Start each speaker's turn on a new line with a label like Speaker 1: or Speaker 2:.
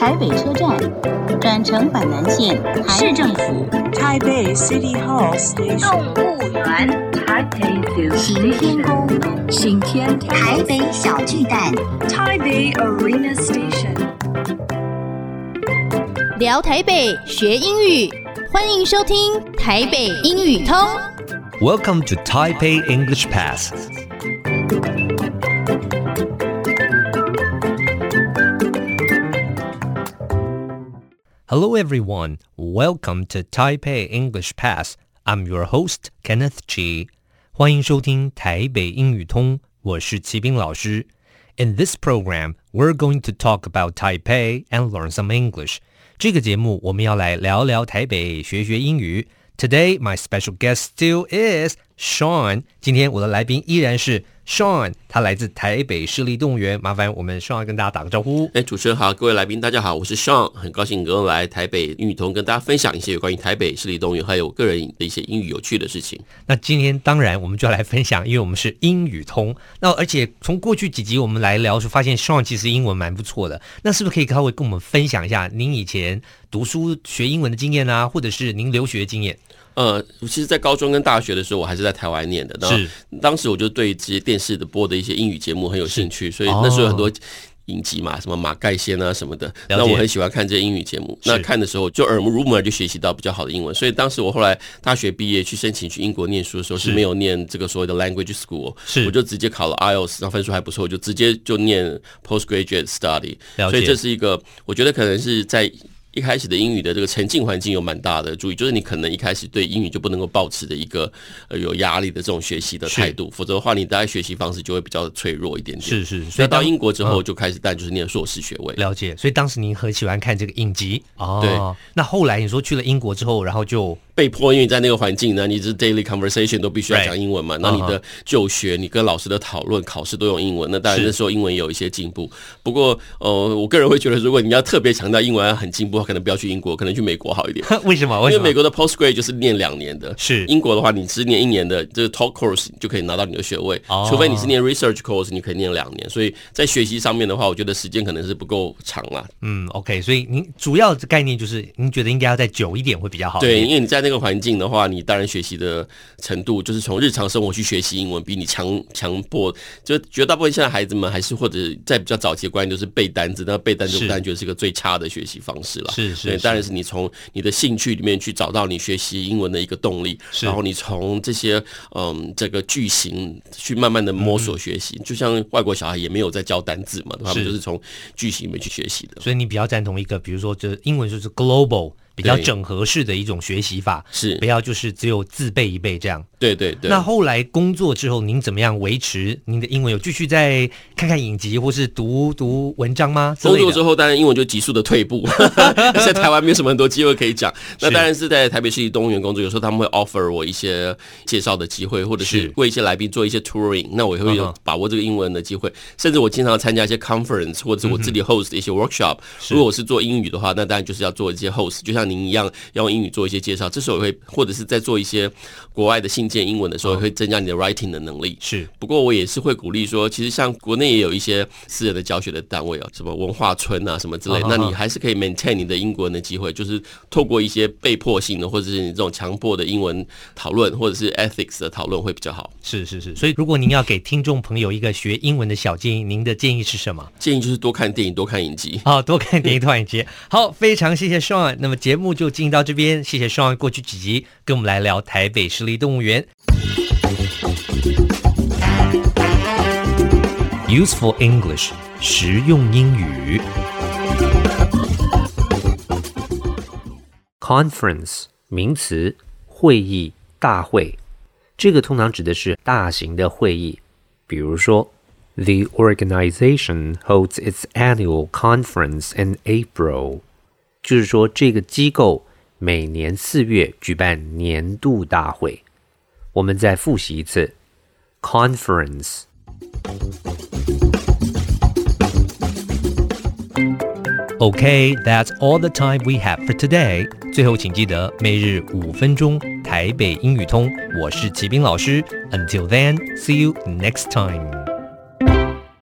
Speaker 1: 台北車站，轉乘板南線，市政府，
Speaker 2: 台北 City Hall Station，
Speaker 1: 動物園，行天宮，行天台北小巨蛋，
Speaker 2: 台北 Arena Station。
Speaker 3: 聊台北學英語，歡迎收聽台北英語通。
Speaker 4: Welcome to Taipei English Pass. Hello everyone, welcome to Taipei English Pass. I'm your host, Kenneth Chi. 歡迎收聽台北英語通，我是齊斌老師。In this program, we're going to talk about Taipei and learn some English. 這個節目我們要來聊聊台北，學學英語。Today, my special guest still is Sean. 今天我的來賓依然是 Sean， 他來自台北市立動物園。麻煩我們 Sean 跟大家打個招呼。
Speaker 5: 主持人好，各位來賓大家好，我是 Sean， 很高興能夠來台北英語通跟大家分享一些有關於台北市立動物園還有我個人的一些英語有趣的事情。
Speaker 4: 那今天當然我們就要來分享，因為我們是英語通。那而且從過去幾集我們來聊的時候，發現 Sean 其實英文蠻不錯的。那是不是可以稍微跟我們分享一下您以前讀書學英文的經驗啊，或者是您留學的經驗？
Speaker 5: 其實在高中跟大學的時候我還是在台灣念的，是當時我就對這些電視的播的一些英語節目很有興趣，所以那時候有很多影集嘛，什麼馬蓋先啊什麼的，那我很喜歡看這些英語節目。那看的時候就耳濡目染，就學習到比較好的英文。所以當時我後來大學畢業去申請去英國念書的時候，是沒有念這個所謂的 language school， 我就直接考了 IELTS， 然後分數還不錯，我就直接就念 postgraduate study。所以這是一個我覺得可能是在一開始的英語的這個沉浸環境有蠻大的注意，就是你可能一開始對英語就不能夠抱持的一個有壓力的這種學習的態度，否則的話你大概學習方式就會比較脆弱一點點。是，所以到英國之後就開始當然就是念碩士學位。
Speaker 4: 了解，所以當時您很喜歡看這個影集哦。
Speaker 5: 對，
Speaker 4: 那後來你說去了英國之後，然後就
Speaker 5: 被迫，因為你在那個環境呢，你是 daily conversation 都必須要講英文嘛，那你的就學，你跟老師的討論、考試都用英文，那當然那時候英文也有一些進步。不過我個人會覺得，如果你要特別強調英文要很進步，可能不要去英國，可能去美國好一點。
Speaker 4: 為什麼？
Speaker 5: 因為美國的 postgrad 就是念2年的，是英國的話，你只念1年的這個 talk course 你就可以拿到你的學位，除非你是念 research course， 你可以念2年。所以在學習上面的話，我覺得時間可能是不夠長啦。
Speaker 4: OK， 所以您主要的概念就是您覺得應該要再久一點會比較好一點。
Speaker 5: 對，因為你在那個環境的話，你當然學習的程度就是從日常生活去學習英文，比你強迫。就絕大部分現在孩子們還是或者在比較早期的觀念就是背單字，那背單字我當然覺得是一個最差的學習方式了。是，當然是你從你的興趣裡面去找到你學習英文的一個動力，然後你從這些這個句型去慢慢的摸索學習。就像外國小孩也沒有在教單字嘛，他們就是從句型裡面去學習的。
Speaker 4: 所以你比較贊同一個，比如說就英文就是 global。比較整合式的一種學習法，是不要就是只有自背一背這樣。
Speaker 5: 對。
Speaker 4: 那後來工作之後，您怎麼樣維持您的英文？有繼續再看看影集或是讀文章嗎？
Speaker 5: 工作之後，當然英文就急速的退步，在台灣沒有什麼很多機會可以講。那當然是在台北市立動物園工作，有時候他們會 offer 我一些介紹的機會，或者是為一些來賓做一些 touring， 那我也會有把握這個英文的機會。甚至我經常參加一些 conference， 或者是我自己 host 的一些 workshop。如果我是做英語的話，那當然就是要做一些 host， 就像您一樣要用英語做一些介紹，這時候也會或者是在做一些國外的信件英文的時候，也會增加你的 writing 的能力。是，不過我也是會鼓勵說，其實像國內也有一些私人的教學的單位什麼文化村啊什麼之類，那你還是可以 maintain 你的英國人的機會，就是透過一些被迫性的或者是你這種強迫的英文討論，或者是 ethics 的討論會比較好。
Speaker 4: 是，所以如果您要給聽眾朋友一個學英文的小建議，您的建議是什麼？
Speaker 5: 建議就是多看電影，多看影集。
Speaker 4: 多看電影，多看影集。好，非常謝謝 Sean。那麼節目就進到這邊，謝謝 Sean 過去幾集跟我們來聊台北市立動物園。Useful English， 實用英語。Conference 名詞，會議、大會，這個通常指的是大型的會議，比如說 The organization holds its annual conference in April， 就是說這個機構每年4月舉辦年度大會。我們再複習一次 Conference。Okay, that's all the time we have for today. 最後請記得每日5分鐘台北英語通，我是齊斌老師。Until then, see you next time.